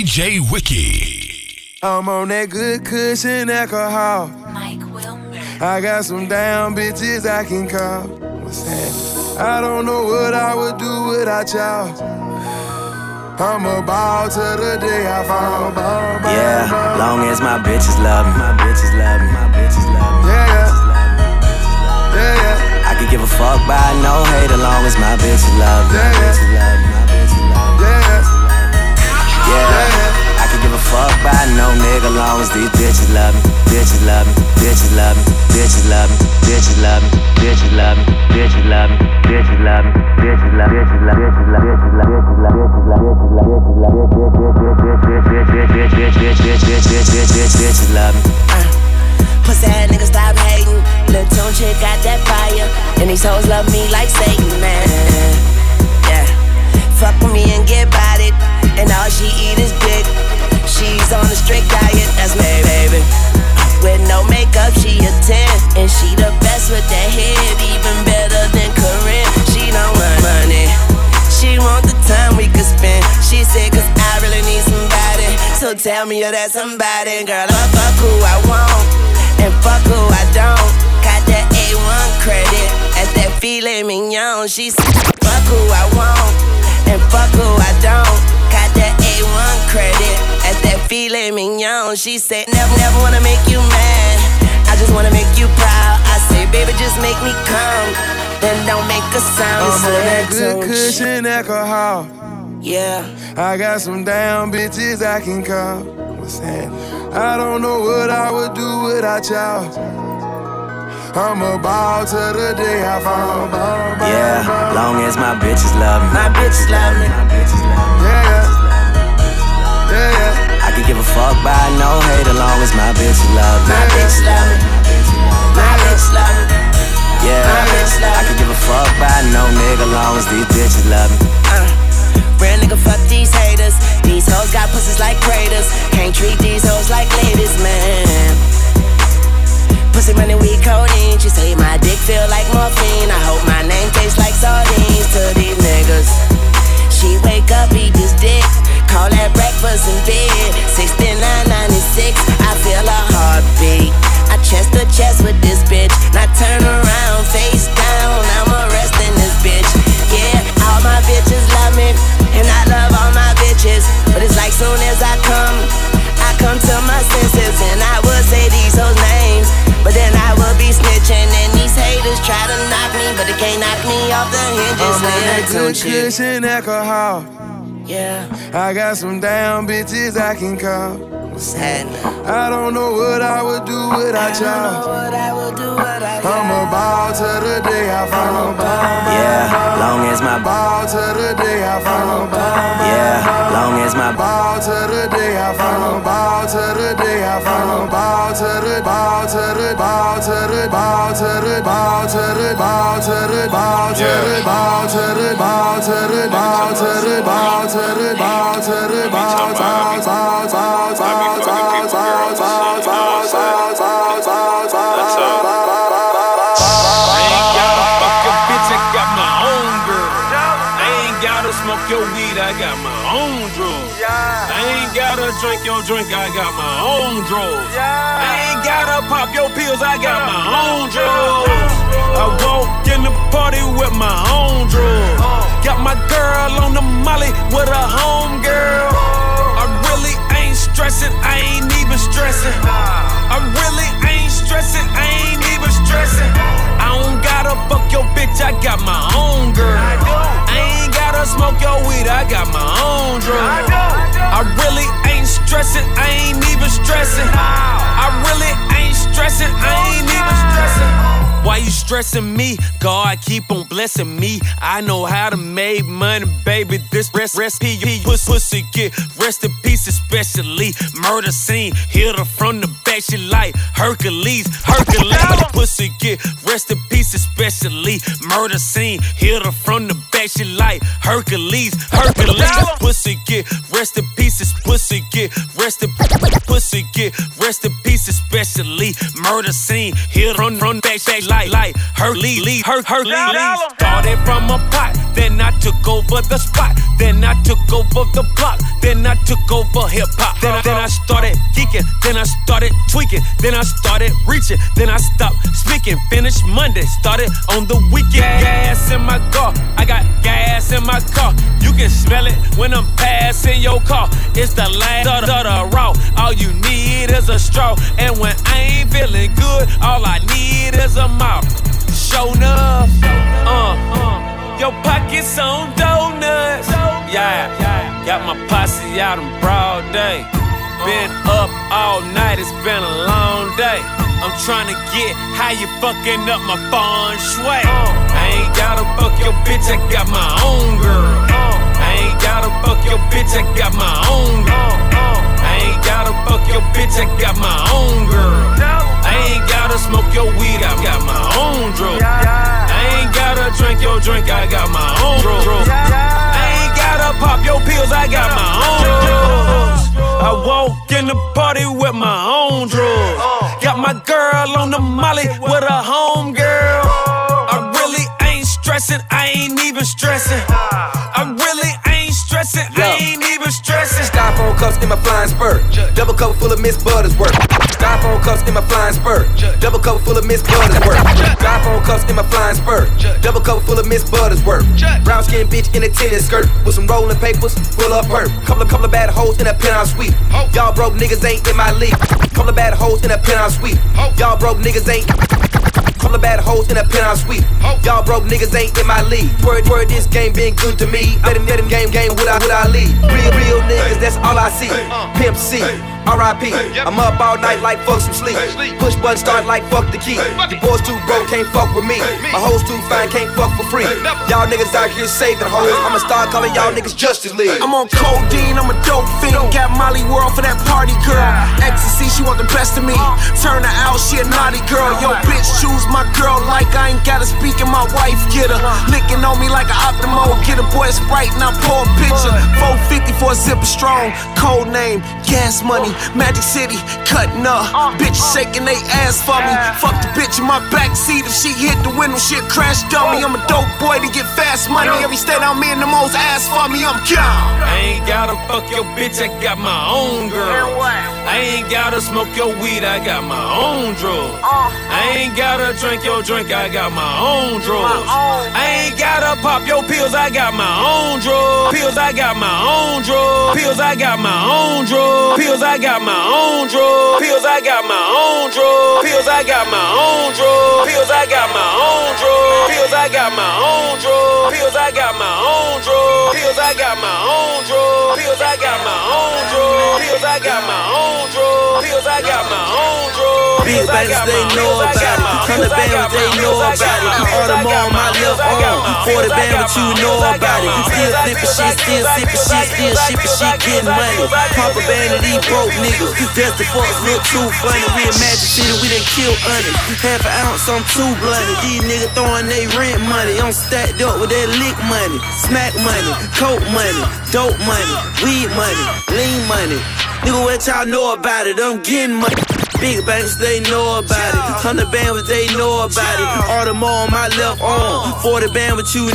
DJ Wiki. I'm on that good cushion alcohol. Mike Wilmer. I got some damn bitches I can call. What's that? I don't know what I would do without y'all. I'm a ball till the day I fall. Yeah, long as my bitches love me. My bitches love me. My bitches love me. Yeah. I could give a fuck by no hate as long as my bitches love me. My bitches love me. My bitches love me. Yeah. I could give a fuck by no nigga long as these bitches love me. Bitches love me. Bitches love me. Bitches love me. Bitches love me. Bitches love me. Bitches love me. Bitches love me. Bitches love me. Bitches love me. Bitches love me. Bitches love me. Pussy ass nigga stop hating. Lil' Tune chick got that fire, and these hoes love me like Satan, man. Yeah, fuck with me and get bodied, and all she eat is dick. She's on a strict diet, that's me, baby. With no makeup, she a 10, and she the best with that head, even better than Corinne. She don't want money, she want the time we could spend. She said, cause I really need somebody, so tell me you're that somebody. Girl, I fuck who I want, and fuck who I don't. Got that A1 credit at that filet mignon. She said, fuck who I want, and fuck who I don't. Got that A1 credit at that filet mignon. She said, never wanna make you mad, I just wanna make you proud. I say, baby, just make me come, then don't make a sound. I'm on that good cushion alcohol. Yeah, I got some damn bitches I can call. What's that? I don't know what I would do without y'all. I'm a ball till the day I fall. Yeah, long as my bitches love me. my bitches love me. My bitches love me. Yeah. I could give a fuck by no hate as long as my bitches love me. My bitches love me. My bitches love me. Yeah, My bitches love me. I could give a fuck by no nigga long as these bitches love me. Real nigga, fuck these haters. These hoes got pussies like craters. Can't treat these hoes like ladies, man. Pussy money, we codeine. She say my dick feel like morphine. I hope my name tastes like sardines to these niggas. She wake up, eat this dick, call that breakfast in bed. 69.96, I feel a heartbeat. I chest to chest with this bitch. Now turn around, face down, I'm arresting this bitch. Yeah, all my bitches love me, and I love all my bitches. But it's like soon as I come to my senses, and I would say these hoes' names, but then I would be snitching, and these haters try to knock me, but they can't knock me off the hinges. I'm on that good cushion alcohol. Yeah, I got some damn bitches I can call. what's happening? I don't know what I would do without y'all. I'm a ball till the day I fall. Yeah, long as my Ball till the day I fall. yeah, long as my Ball till the day I fall. Ball till the day I fall. Ball till the ball till the ball till the ball till the ball till the ball till the ball till the ball till the ball till the ball till the ball till the ball till the ball Smoke your weed, I got my own drugs. I ain't gotta drink your drink, I got my own drugs. I ain't gotta pop your pills, I got my own drugs. I walk in the party with my own drugs. Got my girl on the molly with a home girl. I really ain't stressing, I ain't even stressing. I really ain't stressing, I ain't even stressing. I don't gotta fuck your bitch, I got my own girl. I ain't gotta smoke your weed, I got my own drugs. I really ain't stressing, I ain't even stressing. I really ain't stressing, I ain't even stressing. Why you stressing me? God keep on blessing me. I know how to make money, baby. This recipe, pussy get rest in peace, especially murder scene. Hit her from the back, she like Hercules. Pussy get rest in peace, especially murder scene. Hit her from the back, she like Hercules. Pussy get rest in pieces. Pussy get rest in peace, especially murder scene. Hit her from the back, she like Hercules. Started from a pot, then I took over the spot. Then I took over the block. then I took over hip-hop. Then I started geeking, then I started tweaking, then I started reaching, then I stopped speaking. Finished Monday, started on the weekend. Gas in my car, I got gas in my car. You can smell it when I'm passing your car. It's the last of the raw. All you need is a straw. And when I ain't feeling good, all I need is a mouth. Show enough, your pockets on donuts. Yeah, got my posse out in broad day. Been up all night, it's been a long day. I'm tryna get how you fucking up my feng shui. I ain't gotta fuck your bitch, I got my own girl. I ain't gotta fuck your bitch, I got my own girl. I ain't gotta fuck your bitch, I got my own girl. I ain't gotta smoke your weed, I got my own drug. I ain't gotta drink your drink, I got my own drug. I ain't gotta pop your pills, I got my own drugs. I walk in the party with my own drugs. Got my girl on the molly with a home girl. I really ain't stressing, I ain't even stressing. I really ain't stressing, I ain't even stressing. Styrofoam cups in my flying spur. Double cup full of Miss Buttersworth. Styrofoam cups in my flying spur. Double cup full of Miss Buttersworth. Styrofoam cups in my flying spur. Double cup full of Miss Buttersworth. Brown skin bitch in a tennis skirt with some rolling papers full of perp. Couple of bad hoes in a penthouse suite. Y'all broke niggas ain't in my league. Couple of bad hoes in a penthouse suite. Y'all broke niggas ain't. Couple of bad hoes in a penthouse suite. Y'all broke niggas ain't in my league. Word, this game been good to me. Let him game with I lead. Real niggas, that's all I see. Pimp C, R.I.P. I'm up all night like fuck some sleep. Push button start like fuck the key. Your boys too broke, can't fuck with me. My hoes too fine, can't fuck for free. Y'all niggas out here saving hoes. I'ma start calling y'all niggas Justice League. I'm on codeine, I'm a dope fiend. Got Molly World for that party girl. Ecstasy, she want the best of me. Turn her out, she a naughty girl. Yo, bitch, choose my girl like I ain't gotta speak and my wife get her. Licking on me like an Optimo. Get a boy a Sprite and I pour a picture. 450 for a zipper strong. Code name, gas money. Magic City, cutting up. Bitches shaking they ass for me. Fuck the bitch in my backseat. If she hit the window, shit crash dummy. I'm a dope boy to get fast money. Every state I'm in, the most ass for me. I'm gone. I ain't gotta fuck your bitch, I got my own girl. I ain't gotta smoke your weed, I got my own drugs. I ain't gotta drink your drink, I got my own drugs. I ain't gotta pop your pills, I got my own drugs. Pills, I got my own drugs. Pills, I got my own drugs. Pills, I got my own drugs. Pills, I got my own drugs. Pills, I got my own drugs. Pills, I got my own drugs. Pills, I got my own drugs. Pills, I got my own drugs. Pills, I got my own drugs. Pills, I got my own drugs. Pills, I got my own drugs. Pills, I got my own drugs. Big bands, they know about it. 100 bands, they know about it. All them on my left arm. 40 band, but you know about it. Still flipping shit, still sipping shit, still shipping shit, getting money. Pop a band of these broke niggas. That's the fucks look too funny. We in Magic City, we done killed honey. Half an ounce, I'm too bloody. These niggas throwing they rent money. I'm stacked up with that lick money, smack money, coke money, dope money, weed money, lean money. Nigga, what y'all know about it? I'm getting money. Big banks, they know about it. 100 bands, they know about it. All them on my left arm. 40 band with you.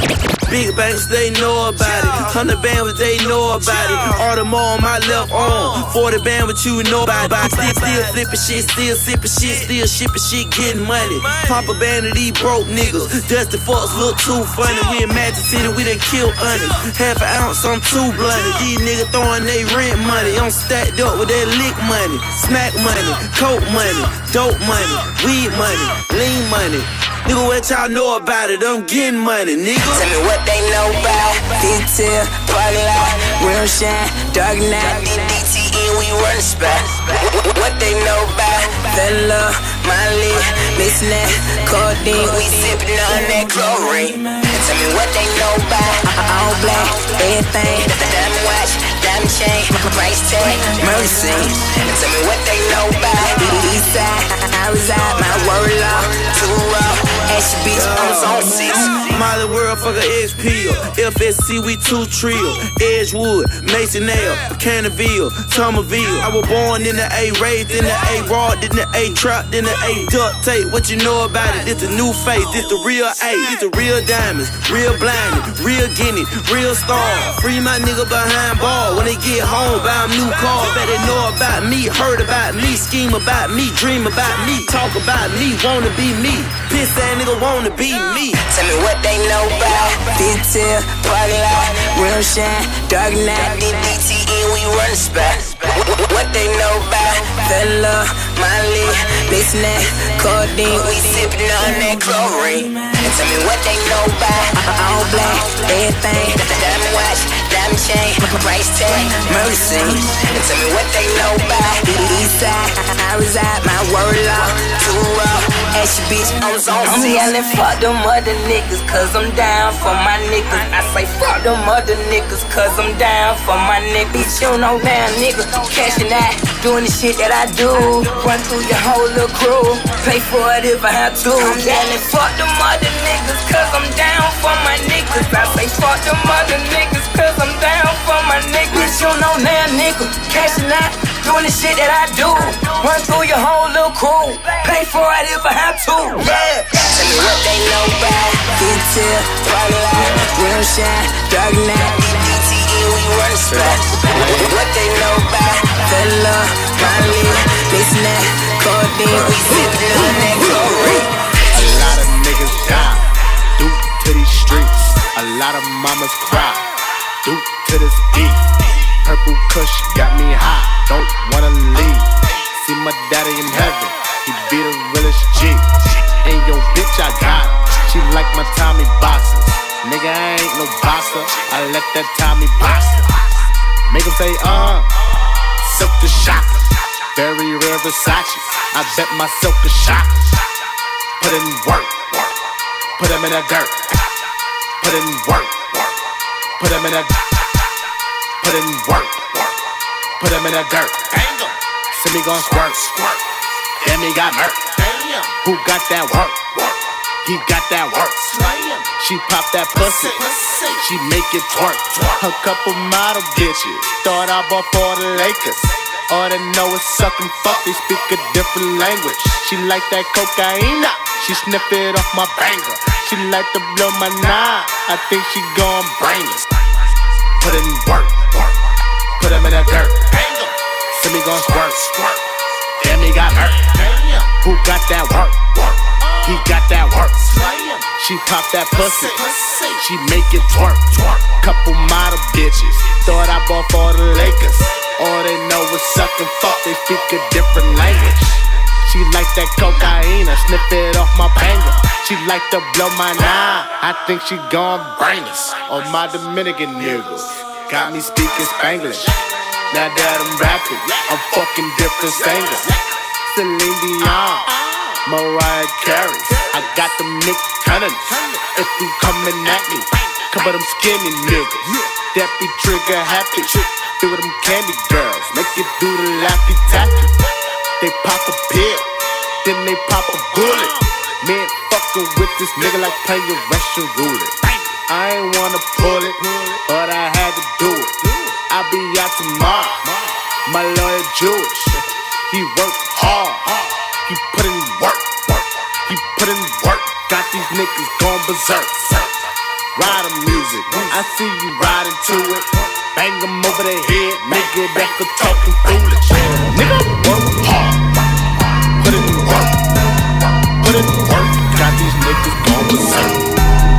Big banks, they know about it. 100 bands, they know about it. All them on my left arm. 40 band with you know about it. Still flipping shit, still sipping shit, still shipping shit, getting money. Pop a band of these broke niggas. Dusty fucks look too funny. We in Magic City, we done killed honey. Half an ounce, I'm too bloody. These niggas throwing they rent money. I'm stacked up with that lick money, smack money, coke money, dope money, weed money, lean money. Nigga, what y'all know about it? I'm getting money, nigga. Tell me what they know about detail, parking lot, real shine, dark night, DDTE, we run the spot. What they know about Fella, Molly, mixing that codeine, we sipping on that chlorine. Tell me what they know about all black, everything, diamond watch, diamond chain, price tag, mercy. Tell me what they know about Eastside, I reside, my word law, too raw. And she bitch on zone 6. Molly World, fuck a XP. FSC, we 2 trio. Edgewood, Masonville, Canterville, Thomasville. I was born in the A, raised in the A, raw, in the A, trapped in the A, duct tape. What you know about it? This the new face, this the real A, this the real diamonds, real blinded, real Guinness, real star. Free my nigga behind ball. When they get home, buy them new cars. Bet they know about me, heard about me, scheme about me, dream about me, talk about me, wanna be me. Piss that nigga wanna be me. Tell me what they know about detail, party lot, real shine, dark night, DDTE, we run the spot. What they know about Fella, Molly, mixing that codeine, we sipping on that chlorine. And tell me what they know about all black, everything, diamond watch, diamond chain, price tag, murder scene. And tell me what they know about the east side, I reside, my word law, too raw, ask your bitch on zone 6. I'm yelling fuck them other niggas, cause I'm down for my niggas. I say fuck them other niggas, cause I'm down for my niggas. Bitch, you know damn nigga, cashing out, doing the shit that I do. Run through your whole little crew, pay for it if I have to. I'm yelling fuck them other niggas, cause I'm down for my niggas. I say fuck them other niggas, cause I'm down for my niggas. Bitch, you know damn nigga, cashing out, doing the shit that I do. Run through your whole little crew, pay for it if I have to. Yeah. Tell me what they know about detail, party lot, real shine, dark night, DDTE, we run the spot. What they know about Fella, Molly, mixing that codeine, we sipping on that chlorine. A lot of niggas die due to these streets. A lot of mamas cry due to this beat. Purple Kush got me high, don't wanna leave. See my daddy in heaven, he be the realest G. And yo bitch I got her, she like my Tommy boxers. Nigga I ain't no boxer, I let that Tommy box her. Make him say silk the shocker, very rare Versace. I bet my silk is shocker. Put in work, put him in the dirt. Put in work, put him in the put in work, put him in the dirt. See me gon' squirt, then me got murk. Who got that work? He got that work. She pop that pussy, she make it twerk. A couple model bitches thought I bought for the Lakers. All they know is suck and fuck, they speak a different language. She like that cocaine, she sniff it off my banger. She like to blow my nine, I think she gon' brain us. Put in work, put him in the dirt. See me gon' squirt, then me got hurt. Who got that work? He got that work. She pop that pussy, she make it twerk. Couple model bitches thought I bought for the Lakers. All they know is suck and fuck, they speak a different language. She like that cocaine, I sniff it off my banger. She like to blow my nine, I think she gon' brain us. On my Dominican niggas, got me speaking Spanglish. Now that I'm rapping, I'm fucking different singers. Celine Dion, Mariah Carey, I got them Nick Cannons. If you coming at me, cover them skinny niggas. That be trigger happy, feel them candy girls, make you do the laffy taffy. They pop a pill, then they pop a bullet. Man, fucking with this nigga like playing Russian roulette. I ain't wanna pull it, but I had to do it. I'll be out tomorrow, my lawyer Jewish. He work hard, he put in work, he put in work. Got these niggas going berserk. Riding music, I see you riding to it. Bang them over the head, make it back for talking foolish. Nigga, work hard, put in work, put in work. Got these niggas going berserk.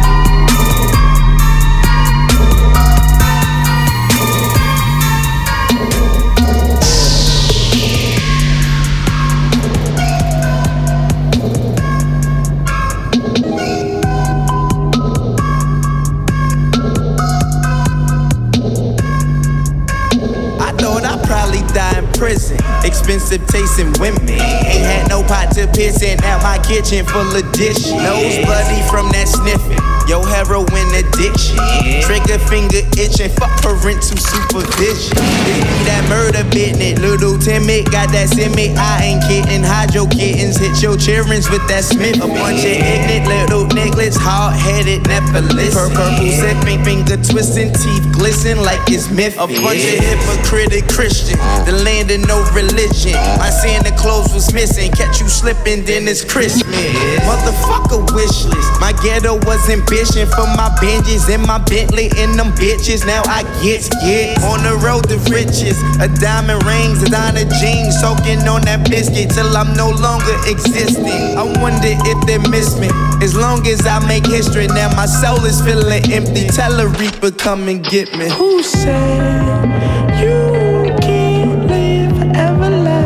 Prison, expensive tasting women. Ain't had no pot to piss in, now my kitchen full of dishes. Nose bloody from that sniffing. Yo, heroin addiction. Trigger finger itching, fuck parental supervision. It be that murder business, little timid, got that simic. I ain't kidding, hide your kittens, hit your childrens with that Smith. A bunch of ignorant little niggas, hard-headed, never listen. Purple sipping, finger twisting, teeth glisten like it's myth. A bunch of hypocritic Christians, the land of no religion. My Santa Claus was missing, catch you slipping, then it's Christmas. Motherfucker wish list, my ghetto was ambition for my Benjis and my Bentley and them bitches. Now I get on the road to riches, a diamond rings, a designer jeans, soaking on that biscuit till I'm no longer existing. I wonder if they miss me. As long as I make history, now my soul is feeling empty. Tell a reaper, come and get me. Who said you can't live forever?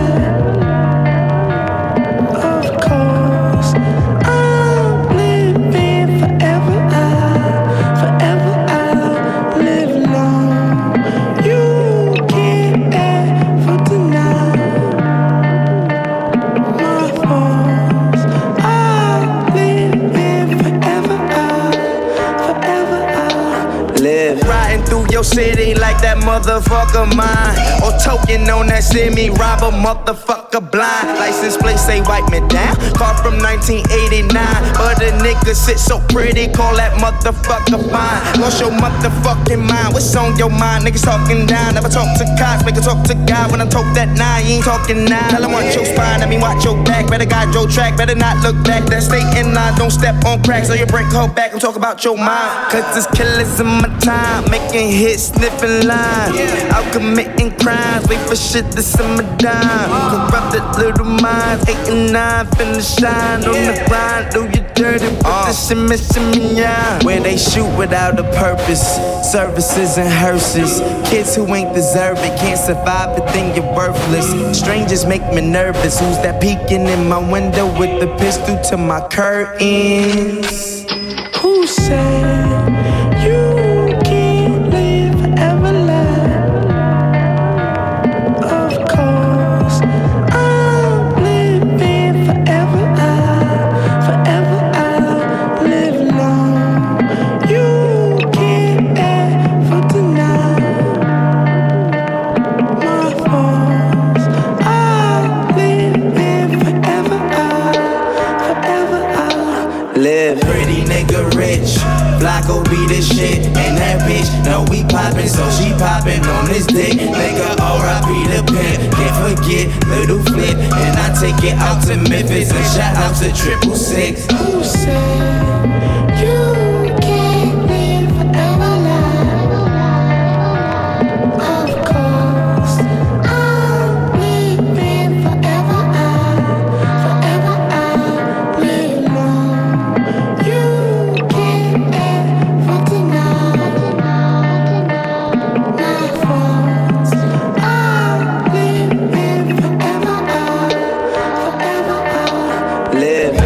Of course, I'm living forever. I'll live long. You can't ever deny my faults. I'm living forever. I'll live. Riding through your city like that motherfucker mine, or token on that semi, rob a motherfucker blind. License plate say wipe me down, car from 1989, but a nigga sit so pretty, call that motherfucker fine. Lost your motherfucking mind, what's on your mind? Niggas talking down, never talk to cops, make a talk to God. When I talk that nine, you ain't talking nine. Tell him watch your spine, I mean watch your back. Better guide your track, better not look back. That state in line, don't step on cracks, or you break her back. I'm talking about your mind, cause there's killers in my time, making hits, sniffing lines, out committing crimes, wait for shit to simmer down. Corrupted little minds, 8 and 9, finna shine on the grind, do you dirty with the shimmy, yeah. Where they shoot without a purpose, services and hearses. Kids who ain't deserve it, can't survive it, then you're worthless. Strangers make me nervous, who's that peeking in my window with the pistol to my curtains? Who said you can't live forever? Of course, I'm living forever. I'll live long. You can't ever deny my faults. I'm living forever. I'll live. Pretty nigga rich, Flacco be the shit, and that bitch know we poppin', so she poppin' on this dick. Nigga R.I.P. the pimp, can't forget Little Flip, and I take it out to Memphis and shout out to 666. Who said you can't live forever? Of course, I'm living forever. I'll live long. You can't ever deny my faults. I'm living forever. I'll live.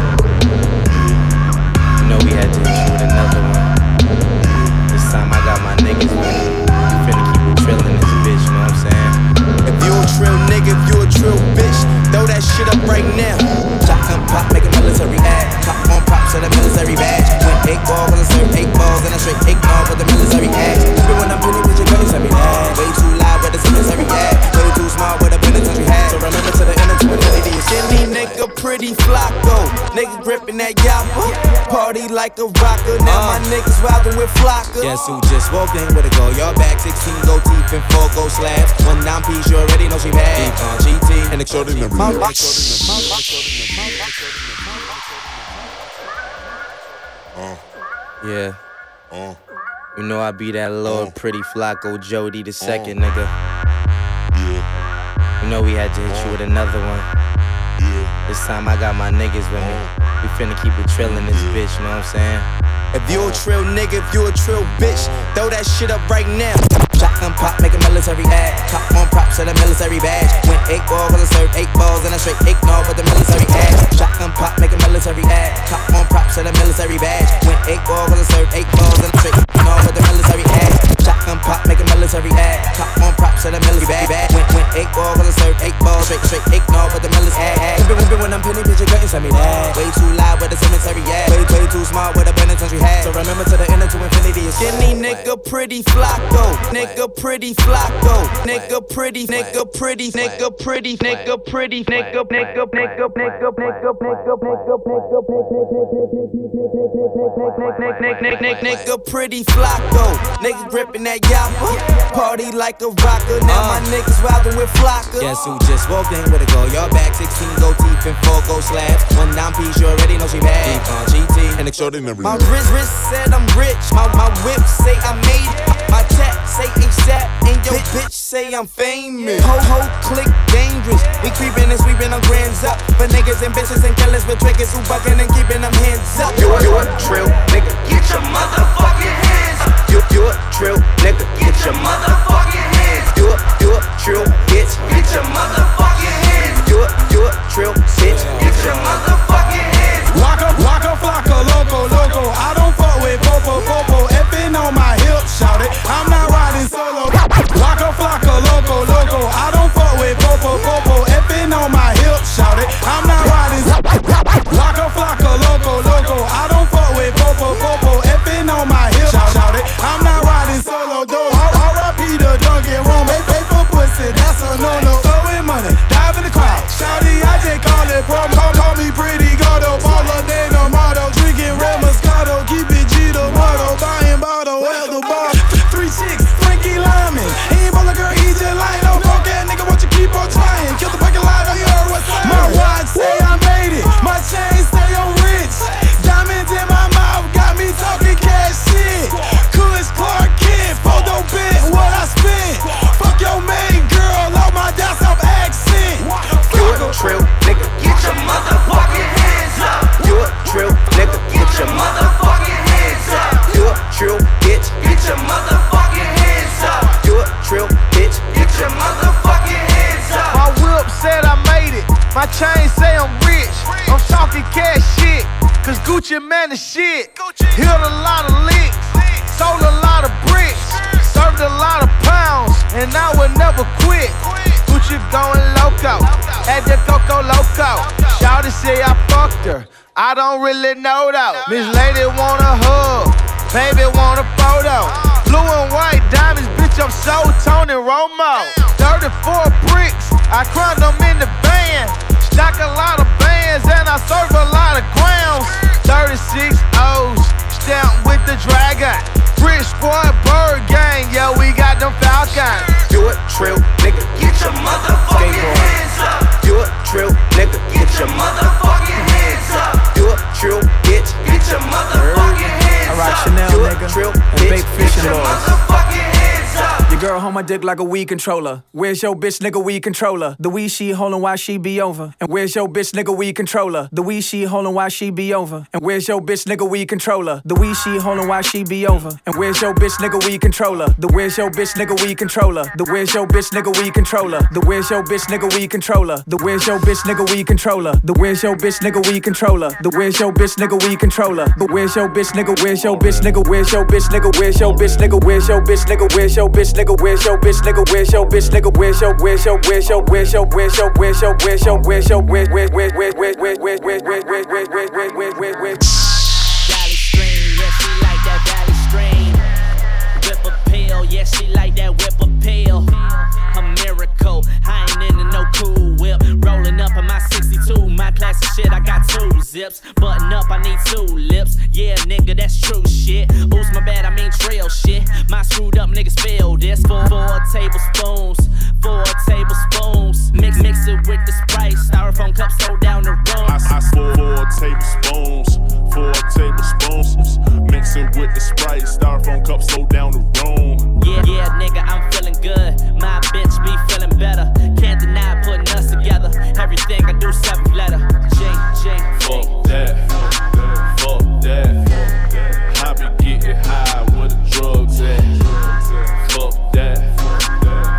You know we had to hit you with another one. This time I got my niggas with me. We finna keep it trillin' this bitch, you know what I'm saying? If you a trill nigga, if you a trill bitch, throw that shit up right now. Shotgun pop, make a military act. Pop on props and a military badge. Went 8 balls when I served 8 balls, and I straight 8 balls with the military act. Even when I'm pretty with your girls, every night. Way too loud with the military act. Way too smart with a penitentiary hat. So remember to the inner to infinity. Skinny nigga, pretty Flacco. Nigga gripping that yappa. Party like a rocker. Now my niggas riding with Flocka. Guess who just walked in with a go? Y'all back 16 go deep and 4 go slabs. 1 9 piece, you already know she bad. Deep on GT and extraordinary. Yeah. You know I be that little pretty Flacco Jody the second, nigga. You know we had to hit you with another one. This time I got my niggas with me. We finna keep it trillin' this bitch, you know what I'm saying? If you a trill nigga, if you a trill bitch, throw that shit up right now. Shotgun pop, make a military act. Top on props and a military badge. Went 8 balls when I served 8 balls, and I straight ignore with the military act. Shotgun pop, make a military act. Top on props and a military badge. Went 8 balls when I served 8 balls, and I straight ignore with the military act. Shotgun pop, make a military act. Top on props and a military badge. Went 8 balls when I served 8 balls, straight ignore with the military act. When I'm penny, bitch, you couldn't send me that. Way too loud with the cemetery act. Way too smart with abundance country hat. So remember to the inner to infinity is skinny nigga pretty flacco. Nigga pretty flacco. Nigga pretty, nigga pretty, nigga pretty, nigga pretty, nigga pretty flacco. Nigga gripping that yappa. Party like a rocker. Now my niggas riding with Flocka. Guess who just walked in with a go? Y'all back 16 gold teeth and 4 gold slabs. One dime piece, you already know she bad. Deep on GT and extraordinary. My wrist said I'm rich. My whip say I made it. My tech say ASAP. And your bitch say I'm famous. Ho click dangerous. We creeping and sweeping our grands up. For niggas and bitches and killers with triggers who bucking and keeping them hands up. You a trill, nigga. Get your motherfucking hands up. You a trill, nigga. Get your motherfucking hands. You a trill, bitch. Get your motherfucking hands. You a trill, bitch. Get your motherfucking hands. Waka, flocka, loco. I don't fuck with popo. Effing on my hip, shout it. I'm not riding solo. Waka, flocka, loco. I don't fuck with popo. Effing on my hip, shout it. I'm not riding. Waka, flocka, loco. I don't fuck with popo. Effing on my hip, shout it. I'm not riding solo, though. R.I.P. the Dunkin' Room. Pay for pussy, that's a no-no. Throwing money, dive in the crowd. Shouty, I just call it promo. Call me pretty Gordo. Baller than a model. Drinking Red Moscato. Keep it G the motto. Buying bottle, hell the bar. 3 chicks, Frankie Lyman. He ain't ballin' girl, he just lying. No broke ass nigga, want you keep on trying. Kill the parking lot, you heard what's up. My watch say I made it. My chain say I'm rich. Diamonds in my mouth got me talking cash shit. Kush Clark Kid, photo bit, what I spent. Fuck your main girl, all my down south accent. You a trill, nigga. Get your motherfucking hands up. You a trill, nigga. Get your motherfucking hands up. You a trill, bitch. Get your motherfucking hands up. You a trill, bitch. Get your motherfucking hands up. My whip said I made it. My chain say I'm rich. I'm talking cash shit. Cause Gucci man is shit. Hit a lot of licks. Sold a lot of bricks. Served a lot of pounds. And I would never quit. Gucci going loco. At the Coco Loco. Shawty say I fucked her. I don't really know though. Miss Lady want a hug. Baby want a photo. Blue and white diamonds, bitch, I'm so Tony Romo. 34 bricks, I crunch them in the van. Stack a lot of bands and I serve a lot of grounds. 36 O's, stamped with the dragon. Rich Squad Bird Gang, yeah, we got them Falcons. You a trill, nigga. Get your motherfucking hands up. You a trill, nigga. Get your motherfucking hands up. You a trill, bitch. Get your motherfucking hands up. I rock Chanel, you nigga, a trill, and bitch. bake fish Get and your lords. motherfucking hands up. Your girl hold my dick like a weed controller. Where's your bitch, nigga, weed controller? The weed she holding while she be over. And where's your bitch, nigga, weed controller? The weed she holding while she be over. And where's your bitch, nigga, weed controller? The weed she holding while she be over. And where's your bitch, nigga, weed controller? The where's your bitch, nigga, weed controller? The where's your bitch, nigga, weed controller? The where's your bitch, nigga, weed controller? The where's your bitch, nigga, weed controller? The where's your bitch, nigga, weed controller? The where's your bitch, nigga, weed controller? But where's your bitch, nigga? Where's your bitch, nigga? Where's your bitch, nigga? Where's your bitch, nigga? Where's your bitch, nigga? Where's your bitch, nigga? Where's your bitch, nigga? Where's your bitch, nigga? Where's your where's your where's your where's your where's your where's your where's your where's your where Valley Stream, yeah, she like that Valley Stream. Whip a pill, yeah, she like that whip a pill. A miracle, I ain't into no cool whip. Rolling up in my 62, my classic shit, I got 2 zips. Button up, I need 2 lips. Yeah, nigga, that's true shit. Oops, my bad, I mean trail shit. My screwed up niggas feel this. 4 tablespoons, 4 tablespoons. Mix it with the Sprite. Styrofoam cups slow down the room. I 4 tablespoons, 4 tablespoons. Mix it with the Sprite. Styrofoam cups slow down the room. Yeah, nigga, I'm feeling good. My bitch be feeling better. Can't deny putting us together. Everything I do 7th letter. J. Fuck that. I be getting high where the drugs at. Fuck that.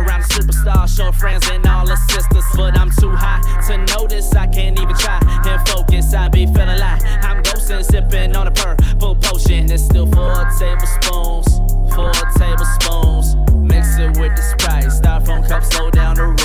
around a superstar, show friends and all her sisters. But I'm too high to notice, I can't even try and focus. I be feeling like I'm ghosting, sipping on a purple potion. It's still 4 tablespoons, 4 tablespoons. Mix it with the Sprite, styrofoam cup, slow down the road.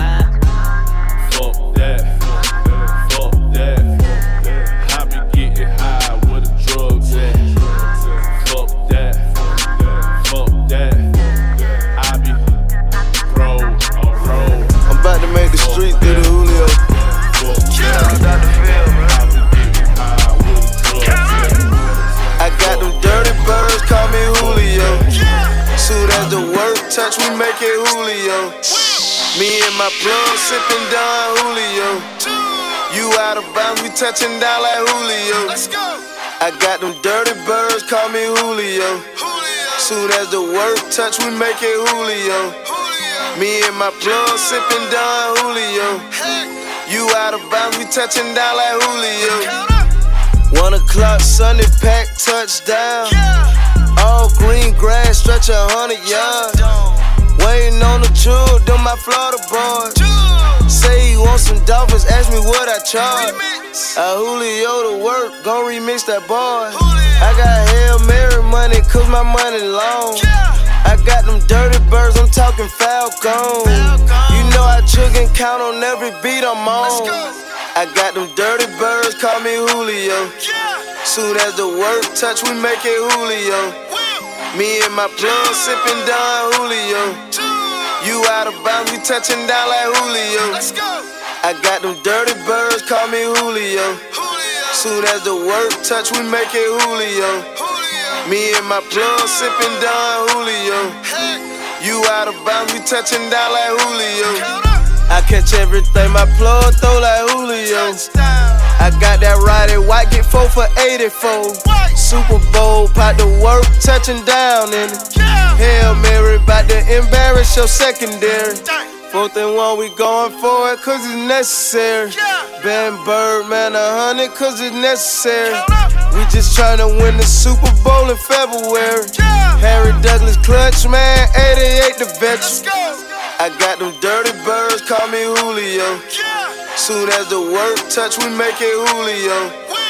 Fuck that, fuck that. I be getting high where the drugs at. Fuck that, fuck that. I be roll on roll. I'm about to make the street through the Julio. I got them dirty birds, call me Julio. Soon as the work touch, we make it Julio. Me and my plug sipping Don Julio. You out of bounds, we touching down like Julio. I got them dirty birds, call me Julio. Soon as the work touch, we make it Julio. Me and my plug sipping Don Julio. You out of bounds, we touching down like Julio. 1 o'clock, Sunday pack, touchdown. All green grass, stretch 100 yards. Waiting on the truth, them my Florida boys. Say he want some Dolphins, ask me what I charge. Julio to work, gon' remix that boy. I got Hail Mary money, cause my money long. I got them dirty birds, I'm talking Falcon. You know I chug and count on every beat I'm on. I got them dirty birds, call me Julio. Soon as the work touch, we make it Julio. Me and my plug sipping Don Julio. You out of bounds, we touching down like Julio. I got them dirty birds, call me Julio. Soon as the work touch, we make it Julio. Me and my plug sipping Don Julio. You out of bounds, we touching down like Julio. I catch everything my plug throw like Julio. I got that ride at white, get 4 for 84. Super Bowl, pot to work, touching down in it. Hail Mary, bout to embarrass your secondary. 4th and 1, we going for it, cause it's necessary. Ben Bird, man, 100, cause it's necessary. We just tryna win the Super Bowl in February. Harry Douglas clutch, man, 88 the veteran. I got them dirty birds, call me Julio. Soon as the work touch, we make it Julio.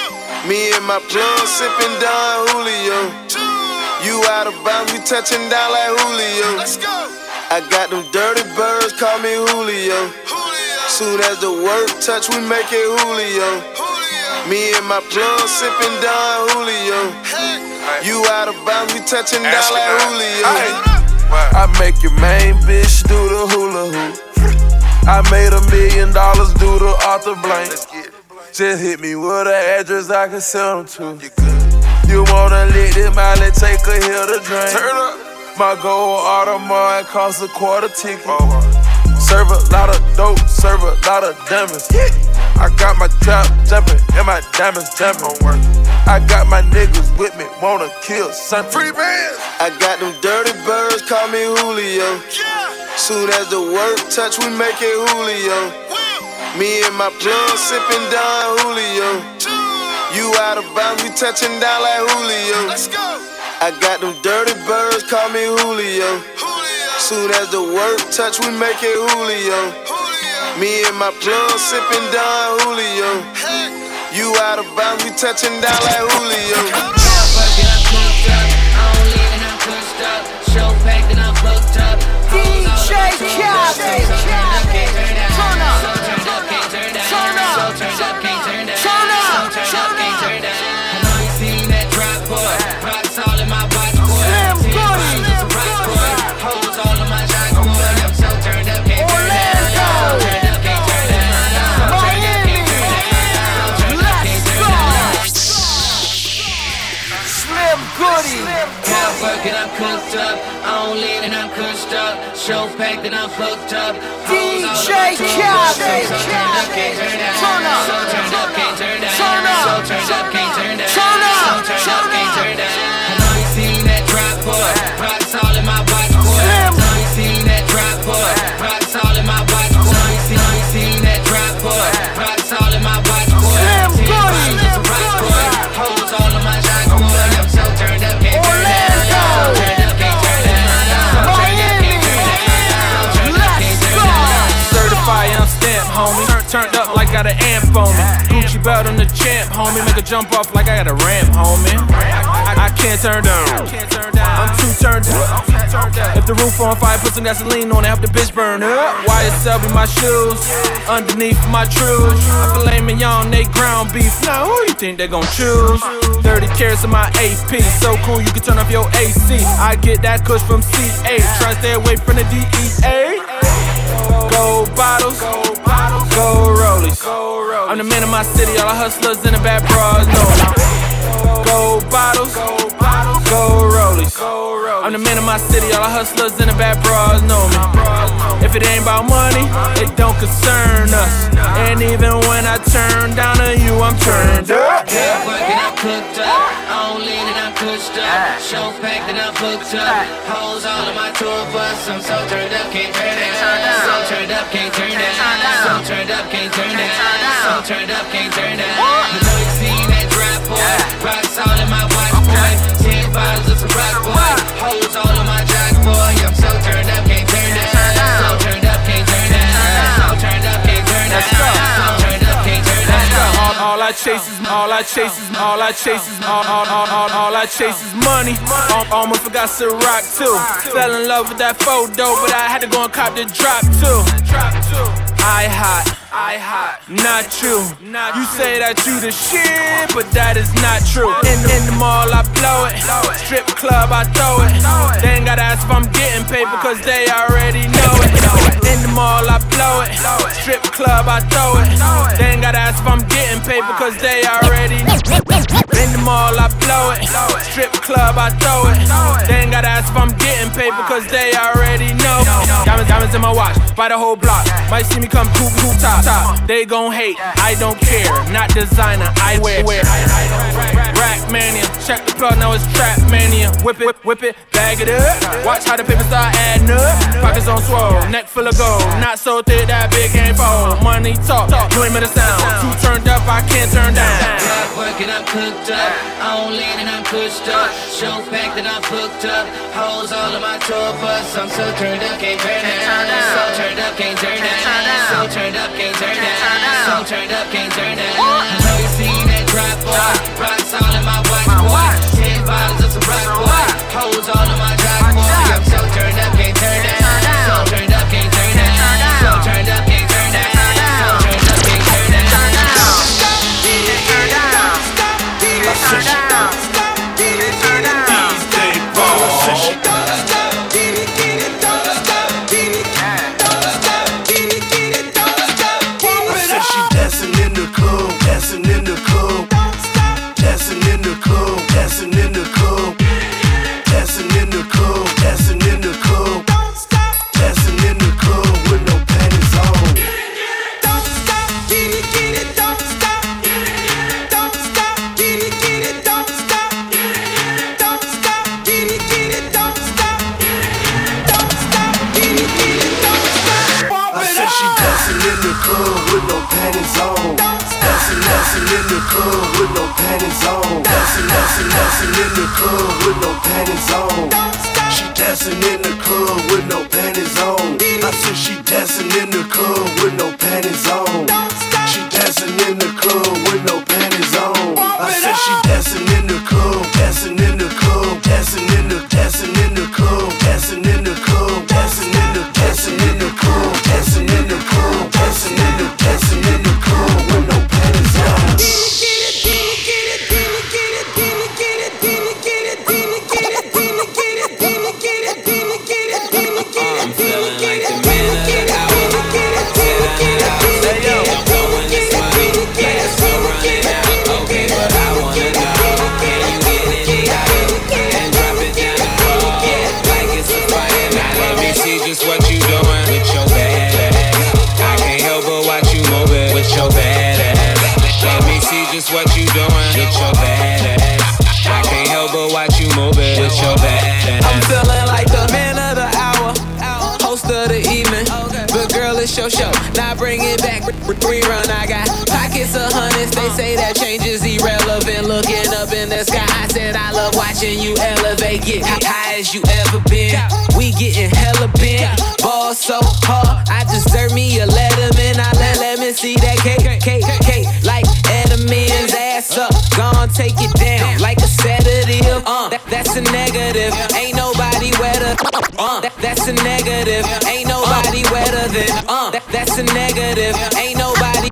Me and my plug sipping Don Julio. You out of bounds, we touching down like Julio. I got them dirty birds, call me Julio. Soon as the work touch, we make it Julio. Me and my plug sipping Don Julio. You out of bounds, we touching down like Julio. I make your main bitch do the hula hoop. I made $1 million do the Arthur Blank. Just hit me with an address I can send them to. You wanna lick this Miley, take a hill to drink. Turn up. My gold Audemars cost a quarter ticket. Serve a lot of dope, serve a lot of diamonds. I got my trap jumping and my diamonds jumping. I got my niggas with me, wanna kill something. Free bands. I got them dirty birds, call me Julio. Soon as the work touch, we make it Julio. Me and my plug sipping Don Julio. You out of bounds, we touching down like Julio. I got them dirty birds, call me Julio. Soon as the work touch, we make it Julio. Me and my plug sipping Don Julio. You out of bounds, we touching down like Julio. Show packed and I'm booked up. DJ Khaled, turn up, turn up, turn up, turn up, turn up. I know you seen that drop boy, rocks all in my watch boy. Hoes all in my shot boy. I'm so turned up, can't turn down. Turned up, can't turn down. Miami, let's go. Slim Goody. Working, I'm cooked up. On lean and I'm crushed up. Show packed and I'm booked up. DJ Khaled, turn up, can't turn down. Turn up, turn up, can't turn down. Turn up, turn up, can't turn down. Turn up, turn up, can't turn down. I know you seen that drop boy, rocks all in my watch boy. I know you seen that drop boy, rocks all in my watch boy. I know you seen that drop boy, rocks all in my watch boy. Hoes all in my shot boy. I'm so turned up, can't turn down. Turn up, can't turn down. Turn up, can't turn down. got an amp on me. Gucci belt on the champ, homie. Make a jump off like I got a ramp, homie. I can't turn down. I'm too turned up. If the roof on fire, put some gasoline on it, help the bitch burn up. YSL be my shoes, underneath my trues. I filet mignon, they ground beef. Now who you think they gon' choose? 30 carats of my AP, so cool you can turn off your AC. I get that kush from CA, try to stay away from the DEA. Gold bottles, gold rollies. I'm the man of my city, all the hustlers and the bad bras know me. Gold bottles, gold rollies. I'm the man of my city, all the hustlers and the bad bras know me. If it ain't about money, it don't concern us. And even when I turn down on you, I'm turned up. Yeah, working, I'm cooked up. On lean and I'm pushed up. Show packed and I'm booked up. Hoes all on my tour bus. I'm so turned up, can't turn down. So turned up, can't turn down. So turned up, can't turn down. So turned up, can't turn down. I know you seen that drop, boy. Rocks all in my watch, boy. 10 bottles of some rock, boy. Hoes all on my jock, boy. I'm so turned up, can't turn down. So turned up, can't turn down. So turned up, can't turn down. So turned up, can't turn down. All I chase is money. Almost forgot Ciroc too. Fell in love with that photo, but I had to go and cop the drop too. I hot, not you. You say that you the shit, but that is not true. In the mall I blow it, strip club I throw it. They ain't gotta ask if I'm getting paid because they already know it. In the mall I blow it, strip club I throw it. They ain't gotta ask if I'm getting paid because they already know it. In the mall I blow it, strip club I throw it. They ain't gotta ask if I'm getting paid because they already know. Diamonds in my watch, buy the whole block. Might see me come cool top. They gon' hate, I don't care. Not designer, I wear. Rack mania, check the plug, now it's trap mania. Whip it, bag it up. Watch how the paper start adding up. Pockets on swole, neck full of gold. Not so thick that big can't fold. Money talk, you ain't made a sound. Too turned up, I can't turn down. Blood working, I'm cooked up. On lean and I'm pushed up. Show packed and I'm booked up. Hoes all on my tour bus. I'm so turned up, can't turn down. So turned up, can't turn down. So turned up, can't turn down. So turned up, can't turn down. I know you seen that drop, boy. Rocks all in my watch, boy. 10 bottles of some rock, boy. Hoes all in my jock, boy. I'm so turned up, can't turn down. So turned up, can't turn down. So turned up, can't turn down. So turned up, can't turn down. Turn down. Dancing in the club with no panties on. Dancing in the club with no panties on. She dancing in the club with no panties on. I said she dancing in the club with no panties on. She dancing in the club with no panties on. I said she dancing in the club, dancing in the club, dancing in the club, dancing in the club, dancing in the club, dancing in the club, dancing in the club, dancing in the club, dancing in the club with no panties on. What you doing with your bad ass? I can't help but watch you moving with your bad ass. I'm feeling like the man of the hour, host of the evening. But girl, it's your show. Now bring it back, rerun. I got pockets of hundreds. They say that change is irrelevant. Looking up in the sky, I said I love watching you elevate. Get high as you ever been. We getting hella bent. Ball so hard, I deserve me a Letterman. I let me see that cake. KK like Edelman's ass up. Gon' take it down like a sedative. That's a negative. Ain't nobody wetter. That's a negative. Ain't nobody wetter than. That's a negative. Ain't nobody.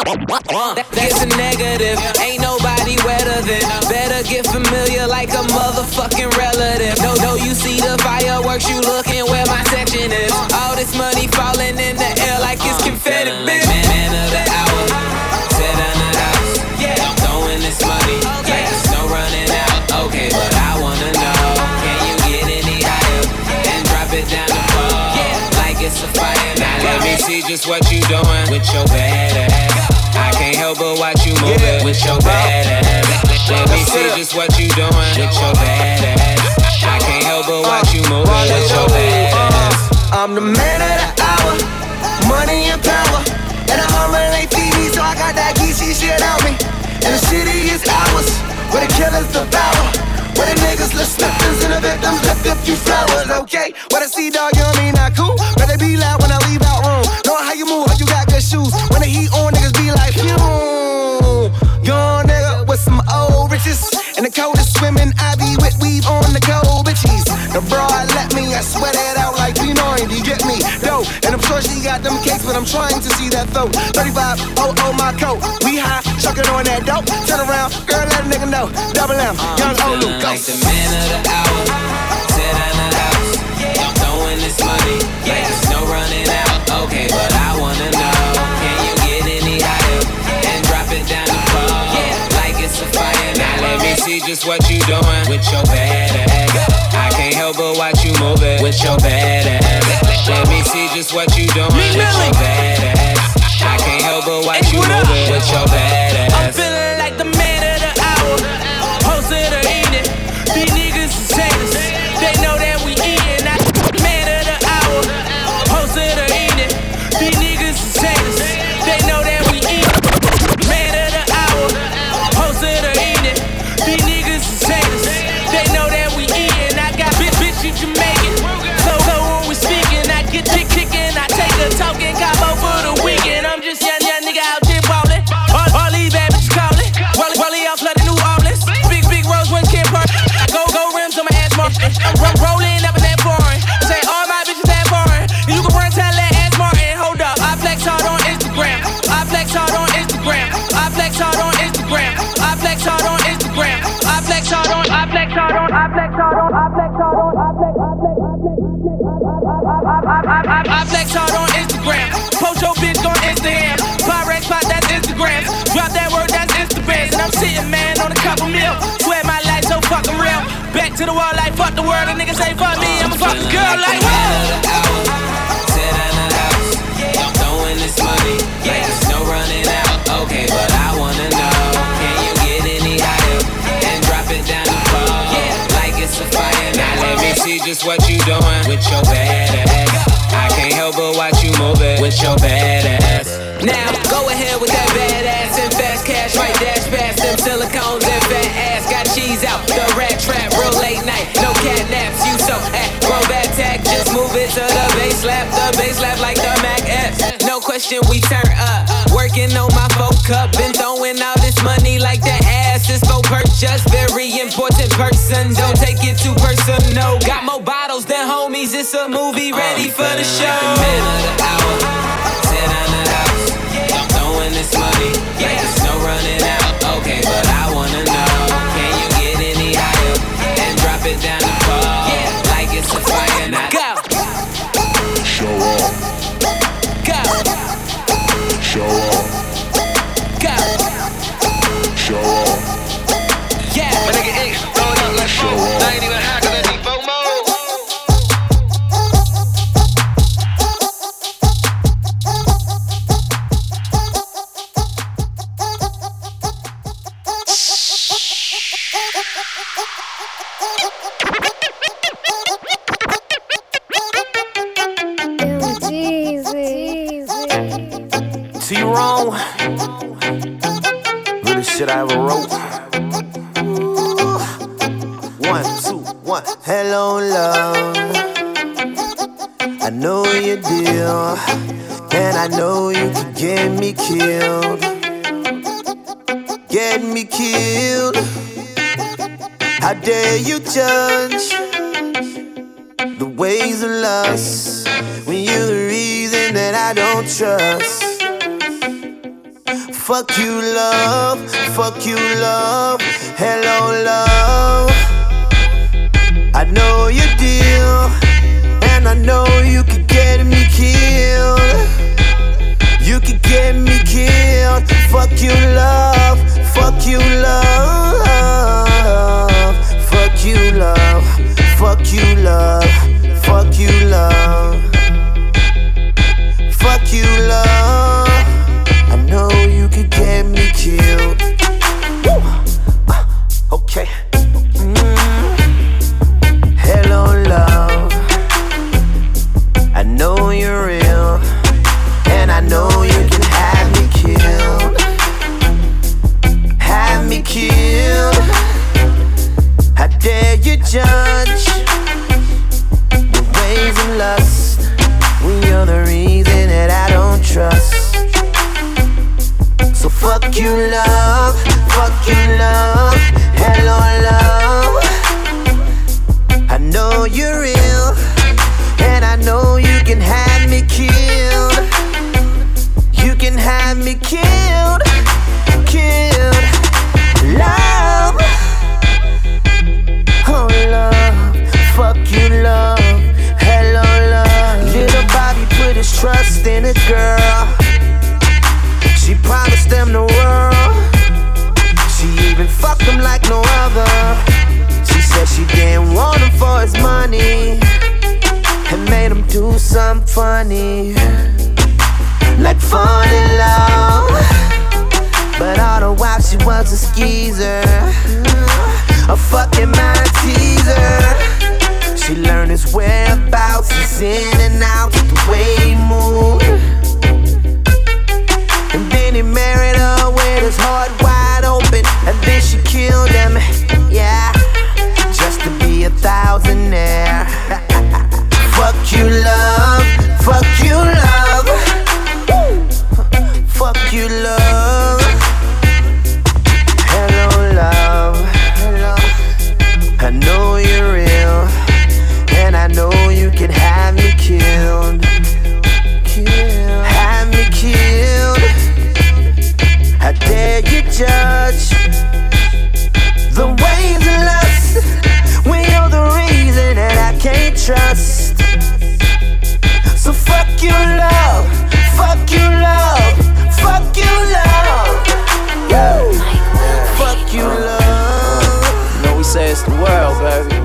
That's a negative. Ain't nobody wetter than. Better get familiar like a motherfucking relative. No, you see the fireworks, you looking where my section is. All this money falling in the air like it's confetti, bitch. Man of the hour, sit on the house. Yeah, I'm throwing this money like there's no running out. Okay, but I wanna know, can you get any higher and drop it down the floor? Yeah, like it's a fire. Now let me see just what you doing with your bad ass. I can't help but watch you move it with your bad ass. Let me see just what you doing with your bad ass. I can't help but watch you move it with your bad ass. I'm the man of the hour, money and power, and the Hummer ain't feed me, so I got that geeky shit on me. And the city is ours, where the killers devour, where the niggas left slippers and the victims left a few flowers. Okay, what I see, dog, you know me not cool. Better be loud when I leave out room. Know how you move, how you got good shoes. When the heat on, niggas be like, phew. Young nigga with some old riches, and the coldest swimming, I be with weave on the cold bitches. The broad let me, I sweat it out like P90, get me, dope. And I'm sure she got them cakes, but I'm trying to see that throat. 35, oh, my coat. We high, chucking on that dope. Turn around, girl, let a nigga know. Double M, young Olu, go. Like the man of the hour, sit on the house. I'm throwing this money like there's no running out. Okay, but I wanna know, can you get any higher and drop it down the floor? Like it's a fire. Now let me see just what you doing with your bad ass. I can't help but watch you move it with your bad ass. Let me see just what you doing with your bad ass. I can't help but watch you move it with your bad ass. I'm feeling like the man of the hour, host of the evening. These niggas is haters, they know that we eatin'. Man of the hour, host of the evening. These niggas is haters, they know that we eatin'. Man of the hour, host of the evening. These niggas is haters, they know that we eatin'. I got bitch you Jamaican, so when we speaking, I get chicken, I take a token combo for the weekend. I'm just young nigga out there ballin'. All these bad bitches callin'. Wally out flooding New Orleans. Big Rose when Kim Park. Go rims on my ass Martin. I'm rolling up in that foreign. Say all my bitches that foreign. You can run tell that ass Martin. Hold up, I flex hard on Instagram. I flex hard on Instagram. I flex hard on Instagram. I flex hard on Instagram. I flex hard on. I flex hard on. I flex hard on. I flex hard on. I flex hard on Instagram. Post your bitch on Instagram. Pyrex spot, that's Instagram. Drop that word, that's Instagram. And I'm sitting, man, on a couple mil. Swear my life so fucking real. Back to the wall like fuck the world. A nigga say fuck me, I'ma fuck the girl like whoa. Sit on the house, I'm throwing this money like there's no running out. Okay, but I wanna know, can you get any higher and drop it down the floor? Like it's a fire. Now let me see just what you doing with your bad ass. I can't help but watch you move it with your bad ass. Now go ahead with that bad ass and fast cash, right dash past them silicones and fat ass. Got cheese out, the rat trap, real late night, no cat naps. You so grown bad tag, just move it to the bass slap like the Mac F. No question, we turn up, working on my folk cup. Been throwing all this money like that ass is for purchase. Very important person, don't take it too personal. Got more bottles than homies, it's a movie ready for the show. The man of the hour, sit on the house. I'm throwing this money like there's no running out. Okay, but I wanna know, can you get any higher and drop it down the floor? Like it's a fire now. Go. Show off. Go. Show off. Go. Show off. Yeah. My nigga ain't throwing up like Show off. I ain't even high 'cause I need FOMO. T-Ron, realest shit I ever wrote. 1, 2, 1. Hello, love. I know your deal, and I know you can get me killed. get me killed? How dare you judge the ways of lust when you're the reason that I don't trust? Fuck you, love. Fuck you, love. Hello, love. I know your deal, and I know you could get me killed. You could get me killed. Fuck you, love. Fuck you, love. Fuck you, love. Fuck you, love. Fuck you, love. Fuck you, love. I know you could get me killed. Woo. Okay. Hello, love. I know you're real, and I know you can have me killed. Have me killed. How dare you judge the ways of lust when you're the reason that I don't trust? So fuck you, love. Fuck you, love. Hello, love. I know you're real, and I know you can have me killed. You can have me killed. Killed. Love. Oh, love. Fuck you, love. Hello, love. Little Bobby put his trust in a girl. She promised them the world. She even fucked him like no other. She said she didn't want him for his money, and made him do something funny, like fall in love. But all the while she was a skeezer, a fucking mind teaser. She learned his whereabouts, his in and out, the way he moved. And then he married her with his heart wide open, and then she killed him, yeah, just to be a thousandaire. Fuck you, love. Fuck you, love. Fuck you, love. Hello, love. Hello. I know you're real, and I know you can have me killed. Have me killed. How dare you judge the ways of lust when you're the reason that I can't trust? So fuck you, love. Fuck you, love. Fuck you, love. Yeah. Fuck you, love. You know we say it's the world, baby.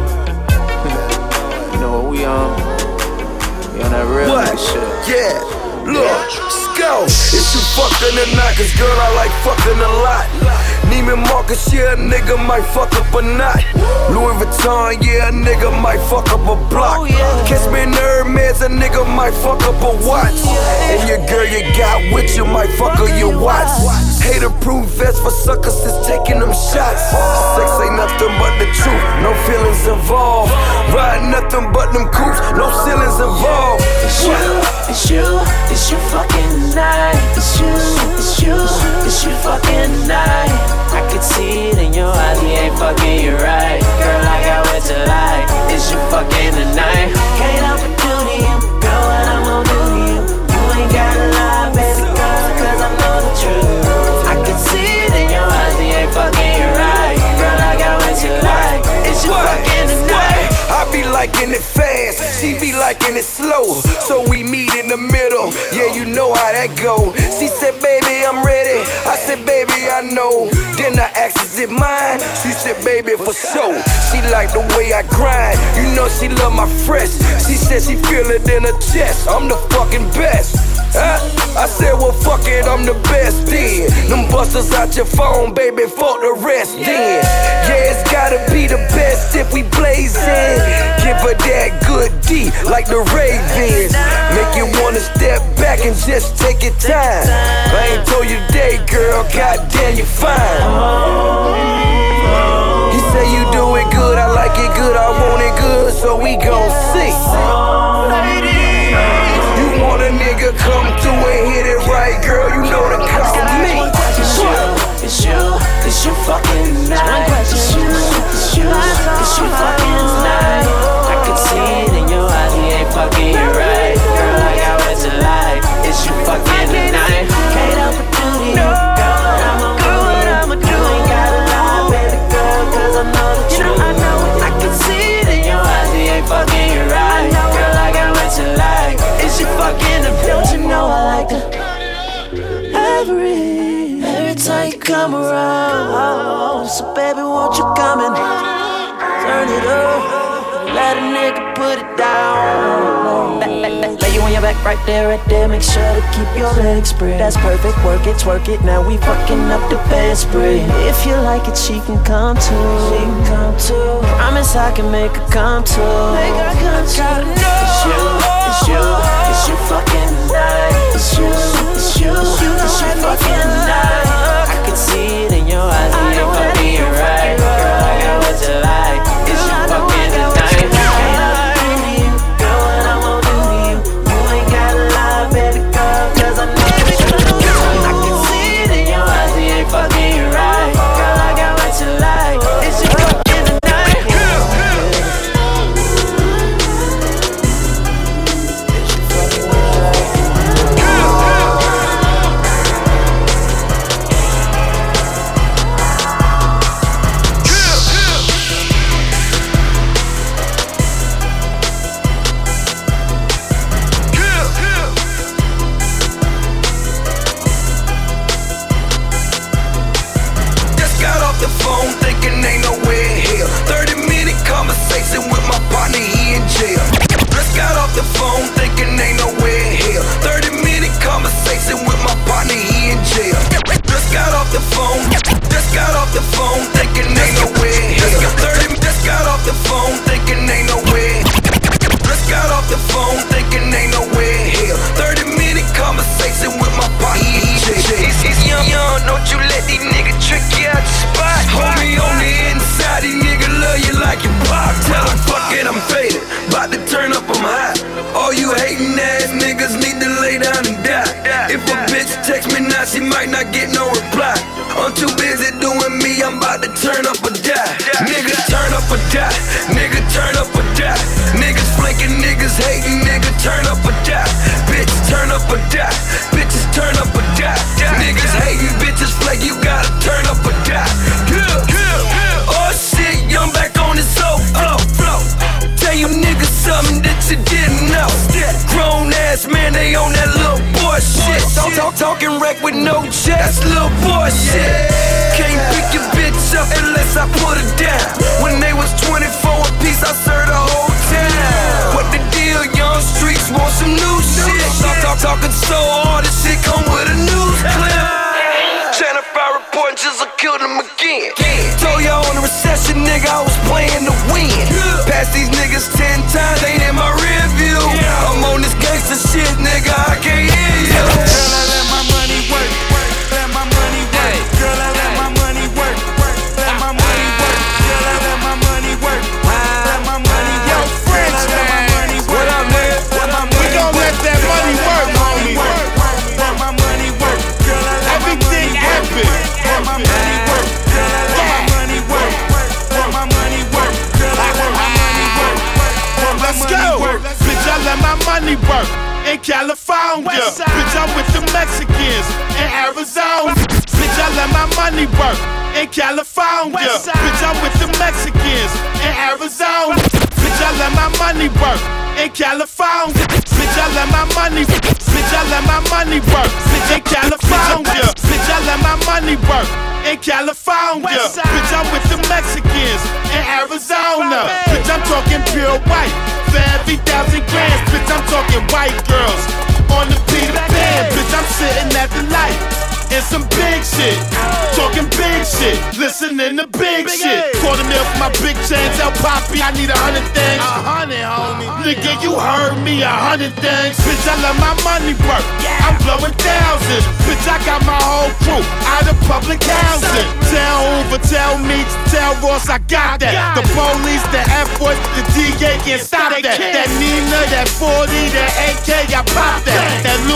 You know what we on? We on that real shit. Yeah, look, go. If you fucking tonight, cause girl, I like fucking a lot. Neiman Marcus, yeah, a nigga might fuck up a knot. Louis Vuitton, yeah, a nigga might fuck up a block. Catch me in Hermes, a nigga might fuck up a watch. And your girl you got with you might fuck up your watch. Hater-proof vest for suckers that's taking them shots. Sex ain't nothing but the truth, no feelings involved. Ride nothing but them coops, no ceilings involved. It's you fucking night. It's you fucking night. I could see it in your eyes, he ain't fucking you right. Girl, I got what you like. It's you fucking tonight. Can't help but do to you, girl, what I'm gon' do to you. You ain't gotta lie, baby girl, cause I know the truth. I could see it in your eyes, he ain't fucking you right. Girl, I got what you like. It's you fucking tonight. I be liking it fast, she be liking it slow. So we meet in the middle, yeah, you know how that go. She said, baby, I'm ready. I said, baby, I know. Then I asked, is it mine? She said, baby, for sure. She like the way I grind, you know she love my fresh. She said she feel it in her chest, I'm the fucking best. I said, well, fuck it, I'm the best then. Them busters out your phone, baby, fuck the rest then. Yeah, it's gotta be the best if we blazing. Give her that good D, like the Ravens. Make you wanna step back and just take your time. I ain't told you today, girl, goddamn, you fine. He say you do it good, I like it good, I want it good, so we gon' see. You want a nigga come through and hit it right, girl, you know to call me. It's Is you fucking tonight? Is you fucking tonight? I can see it in your eyes, he ain't fucking you right. Girl, I got what you like. Is you fucking tonight? Can't help but do to you. Girl, what I'ma do? You ain't gotta lie, baby girl, cause I know the truth. I can see it in your eyes, he ain't fucking you right. Girl, I got what you like. Is you fucking him? Don't you know I like to every time you come around. So baby, won't you come and turn it up, let a nigga put it down. Lay you on your back right there, make sure to keep your legs spread. That's perfect, work it, twerk it, now we fucking up the bed spread. If you like it, she can come too. Promise I can make her come too. It's you fucking night. It's you fucking night. I can see it in your eyes, you ain't fucking you right. Girl, I got what you like. It's you fucking tonight. Girl, what I'ma do to you? You ain't gotta lie, baby girl, cause I know the truth. I can see it in your eyes, you ain't fucking you right. Girl, I got what you like. It's you fucking tonight. Talking wreck with no check, that's little boy shit. Can't pick your bitch up unless I put her down. When they was 24 a piece, I served the whole town. What the deal, young streets want some new shit. Talking so hard, this shit come with a news clip. Channel 5 reporting just killed him again. Told y'all on the recession, nigga, I was playing to win. Passed these niggas 10 times, ain't in my rear view. I'm on this gangsta shit, nigga, I can't hear you. Work in California, bitch, I'm with the Mexicans in Arizona. Bitch, I let my money work in California. Bitch, I'm with the Mexicans in Arizona. Bitch, I let my money work in California. Bitch, I let my money. Bitch, I let my money work in California. Bitch, I let my money work in California. Bitch, I'm with the Mexicans in Arizona. Bitch, I'm talking pure white. For every 1,000 grams, bitch, I'm talking white girls on the Peter Pan. Bitch, I'm sitting at the light in some big shit, talking big shit, listening to big shit. $250,000 for my big chains, El Papi, I need 100 things. 100, homie. Nigga, you heard me, 100 things. Bitch, I let my money work. I'm blowing thousands. Bitch, I got my whole crew out of public housing. Tell Hoover, tell me, tell Ross, I got that. The police, the F-boys, the DA can't stop that. That Nina, that 40, that AK, I pop that. That Louis,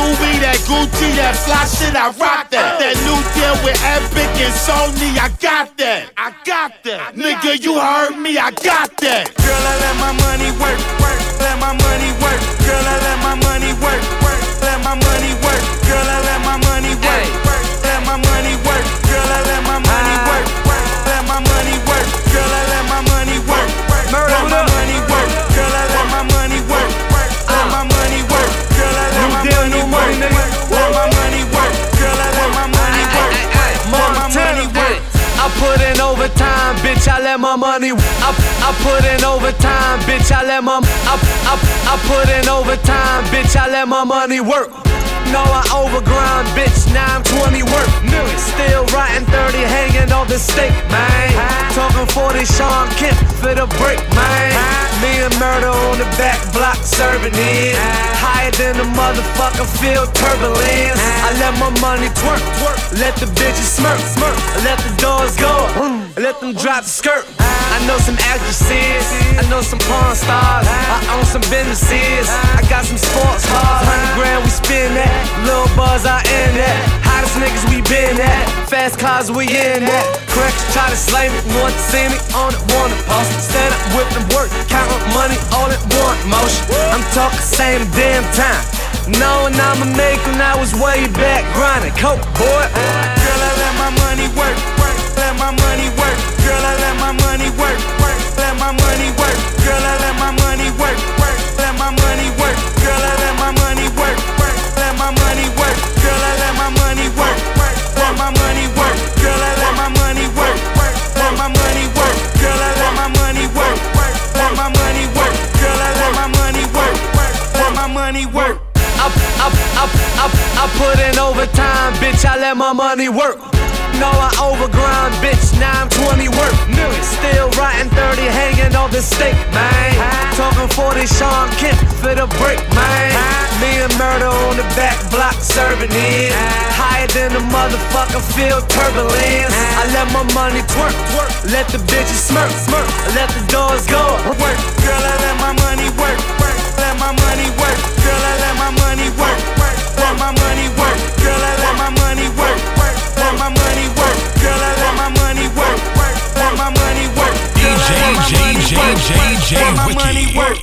that Gucci, that fly shit, I rock that. That new deal with Epic and Sony, I got that. I got that. Nigga, you heard me, I got that. Girl, I let my money work, work. Let my money work. Girl, I let my money work, work. Let my money work. Girl, I let my money work, work. Let my money work. Girl, I let my money work, work. Let my money work. Girl, I let my money work, work. Let my money work. Girl, I let my money work, work. Let my money work. Girl, I let my money work, work. Let my money work. Girl, I let my money work, work. Let my money work. I put in overtime, bitch, I let my money. I put in overtime, bitch, I let my. I put in overtime, bitch, I let my money work. No, I overgrind, bitch, now I'm 20 work. Still writing 30, hanging off the stake, man. Talking 40 Sean Kemp for the break, man. Me and Murder on the back block serving it. Higher than the motherfucker, feel turbulence. I let my money twerk, twerk. Let the bitches smirk, smirk. Let the doors go, let them drop the skirt. I know some actresses, I know some porn stars. I own some businesses, I got some sports cars. 100 grand we spin that, little buzz I in that. Hottest niggas we been at, fast cars we in that. Cracks try to slay me, want to see me on it, want to post. Stand up, whip and work, counting money all at one motion. I'm talking same damn time, knowing I'ma make when I was way back grinding. Coke boy. Girl, I let my money work, work. Let my money work. Girl, I let my money work, work. Let my money work. Girl, I let my money work, work. Let my money work. Girl, I let my money work, work. Let my money work. Girl, I let my money work, work. Let my money work. Girl, I let my money work, work. Let my money work. Girl, I let my money work, work. Let my money work. Girl, I let my money work, work. Let my money work. I put in overtime, bitch, I let my money work. No, I overgrind, bitch, now I'm 20 work. Still writing 30, hanging off the stake, man. Talking 40 Sean Kemp for the break, man. Me and Murder on the back block serving it. Higher than the motherfucker, feel turbulence. I let my money twerk, twerk. Let the bitches smirk, smirk. Let the doors go, work. Girl, I let my money work, work. Let my money work. Girl, I let my money work, work. Let my money work. Girl, I let my money work, work. Let my money work. Girl, I let my money work, work. Let my money work. Girl, I let my money work, work. Let my money work.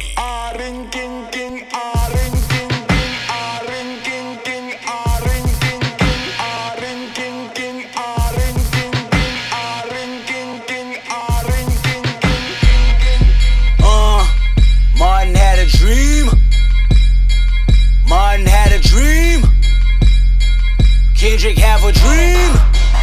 Martin had a dream. Martin had a dream. Kendrick have a dream.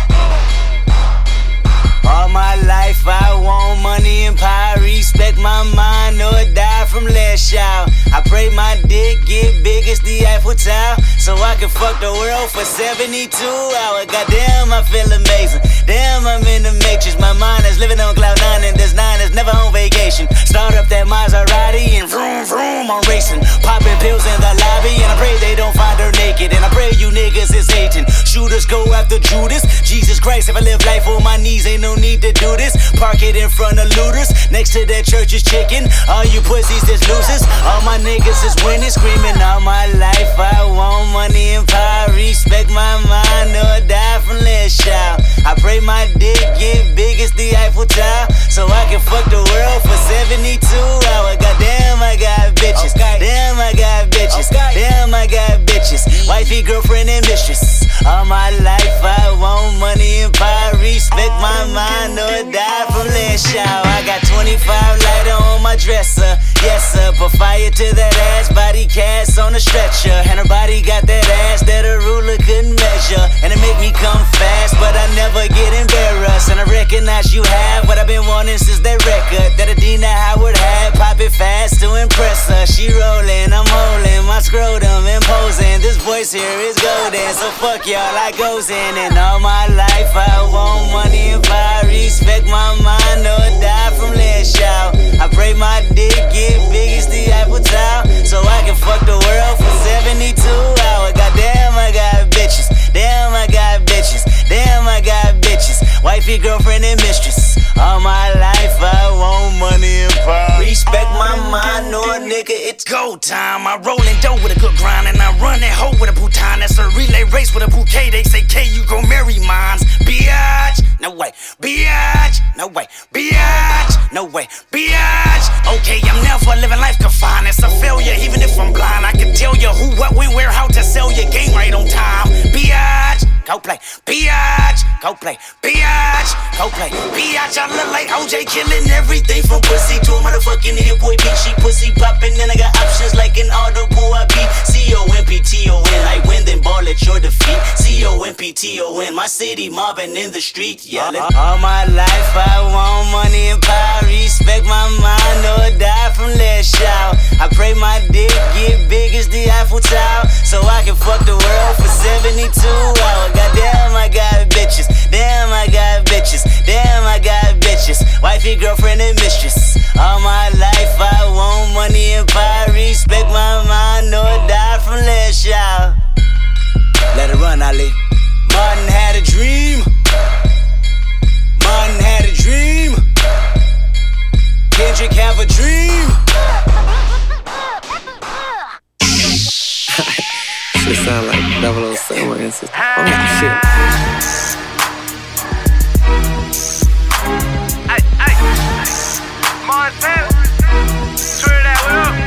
All my life I want money and power. Respect my mind or die from less child. I pray my dick get big as the Eiffel Tower, so I can fuck the world for 72 hours. Goddamn, I feel amazing. Damn, I'm in the matrix. My mind is living on cloud 9 and this 9 is never on vacation. Start up that Maserati and vroom vroom, I'm racing. Popping pills in the lobby and I pray they don't find her naked. And I pray you niggas is hating. Shooters go after Judas. Jesus Christ, if I live life on my knees, ain't no need to do this. Park it in front of looters. Next to that church is chicken. All you pussies is losers. All my niggas is winning, screaming all my life. I want money and power. Respect my mind or die from less child. I pray my dick get big as the Eiffel Tower, so I can fuck the world for 72 hours. Goddamn, I got bitches. Damn, I got bitches. Damn, I got bitches. Wifey, girlfriend, and mistress. All my life I want money and power. Respect my mind or die from less child. I got 25 lighter on my dresser. Yes sir, put fire to that ass. Body cast on a stretcher, and her body got that ass that a ruler couldn't measure. And it make me come fast, but I never get embarrassed. And I recognize you have what I've been wanting since that record that Adina Howard had. Pop it fast to impress her. She rolling, I'm holding my scrotum, imposing. This voice here is golden, so fuck y'all, I goes in. And all my life I want money and power. Respect my mind or die from less child. I pray my dick get big as the Eiffel Tower, so I can fuck the world for 72 hours. Goddamn, I got bitches. Damn, I got bitches. Damn, I got bitches. Wifey, girlfriend, and mistress. All my life I want money and power. Respect my mind, no nigga, it's go time. I roll and dough with a good grind, and I run that hoe with a bouton. That's no way, biatch, no way, biatch. Okay, I'm never living life confined. It's a failure, even if I'm blind. I can tell you who, what, when, where, how to sell your game right on time. Biatch, go play, biatch, go play, biatch, go play, biatch. I look like OJ killing everything from pussy to a motherfucking hit boy beat. She pussy popping, and I got options like an audible. I beat COMPTON, like win then ball at your defeat. COMPTON, my city mobbing in the street, yelling. All my life I want money and power. Respect my mind or die from less shout. I pray my dick get big as the Eiffel Tower, so I can fuck the world for 72 hours. Goddamn, I got bitches. Damn, I got bitches. Damn, I got bitches. Wifey, girlfriend, and mistress. All my life I want money and power. Respect my mind or die from less shout. Let it run, Ali. Martin had a dream. Martin had a dream. Kendrick have a dream. Shit sound like 007 instance. Oh shit. Ay, Montana, turn that one up.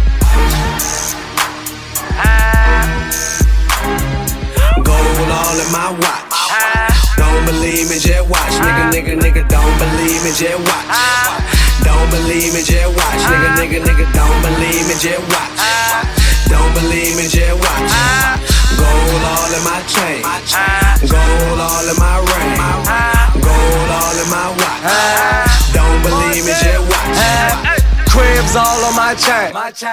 Gold all in my watch. Don't believe me, just watch. Nigga, don't believe me, just watch. Don't believe me, just watch. Nigga, don't believe me, just watch. Don't believe me, just watch. Gold all in my chain. Gold all in my ring. Gold all in my watch. Don't believe me, just watch. Cribs all on my chain.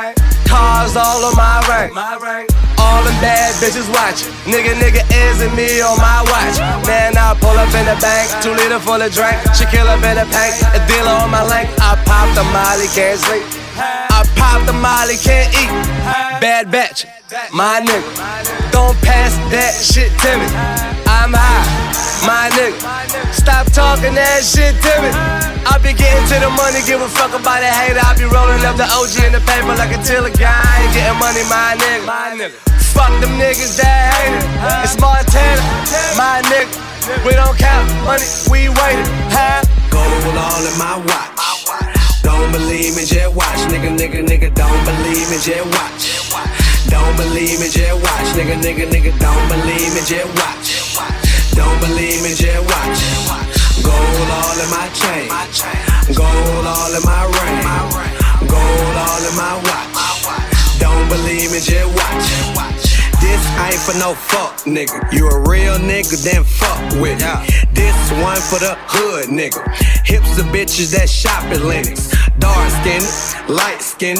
Cars all on my ring. All them bad bitches watching. Nigga is and me on my watch. Man, I pull up in the bank, 2 liter full of drink. She kill up in the paint, a dealer on my link. I pop the molly, can't sleep. I pop the molly, can't eat. Bad batch, my nigga. Don't pass that shit to me. I'm high, my nigga. Stop talking that shit to me. I be getting to the money, give a fuck about a hater. I be rolling up the OG in the paper like a tiller guy. I ain't getting money, my nigga. Fuck them niggas that hate it. It's Montana, my nigga. We don't count money, we waited. Gold all in my watch. Don't believe me, just watch. Nigga, don't believe me, just watch. Don't believe me, just watch. Nigga, don't believe me, just watch. Don't believe me, just watch. Gold all in my chain. Gold all in my ring. Gold all in my watch. Don't believe me, just watch. This ain't for no fuck, nigga. You a real nigga, then fuck with me. This one for the hood, nigga. Hips of bitches that shop at Lennox. Dark skinned, light skinned,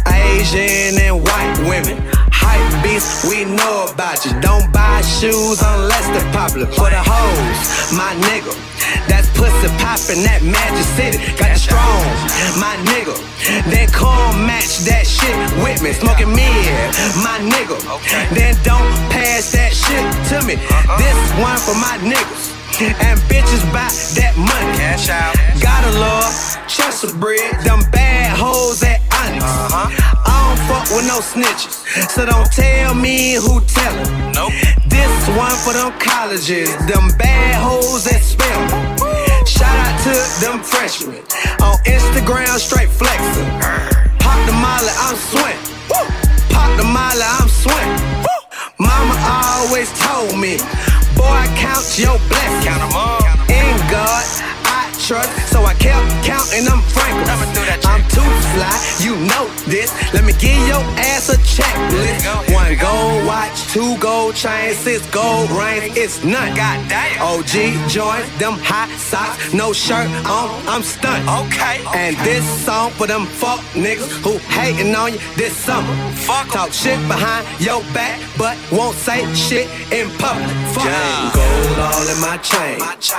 Asian and white women. Hype beasts, we know about you. Don't buy shoes unless they're popular. For the hoes, my nigga. That's pussy poppin', that Magic City. Got it strong, my nigga. Then come match that shit with me. Smoking mid, my nigga. Then don't pass that shit to me. This one for my niggas. And bitches buy that money. Cash out. Gotta love Chester bread. Them bad hoes at Onyx. I don't fuck with no snitches, so don't tell me who tellin'. Nope. This one for them colleges. Them bad hoes at Spelman. Shout out to them freshmen on Instagram, straight flexin'. Pop the molly, I'm swing. Pop the molly, I'm swing. Mama always told me, boy, count your blessings. Count 'em up. In God, I trust, so I kept counting them frankly. I'm too fly, you know this. Let me give your ass a checklist. 1 gold watch, 2 gold chains, 6 gold rings. It's none. Goddamn. OG joints, them hot socks, no shirt on, I'm stunned. Okay. And this song for them fuck niggas who hating on you this summer. Fuck talk shit behind your back, but won't say shit in public. Fuck yeah. Gold all in my chain.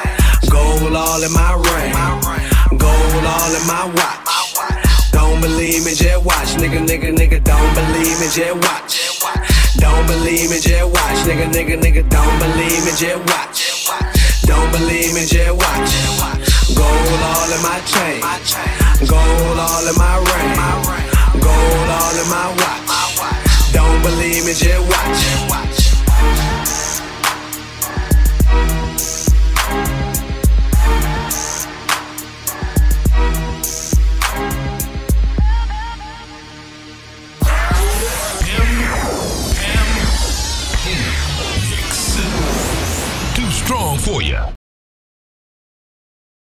Gold all in my ring. Gold all in my watch. Don't believe me, just watch. Nigga, don't believe me, just watch. Don't believe me, just watch. Nigga, don't believe me, just watch. Don't believe me, just watch. Gold all in my chain. Gold all in my ring. Gold all in my watch. Don't believe me, just watch. strong for you.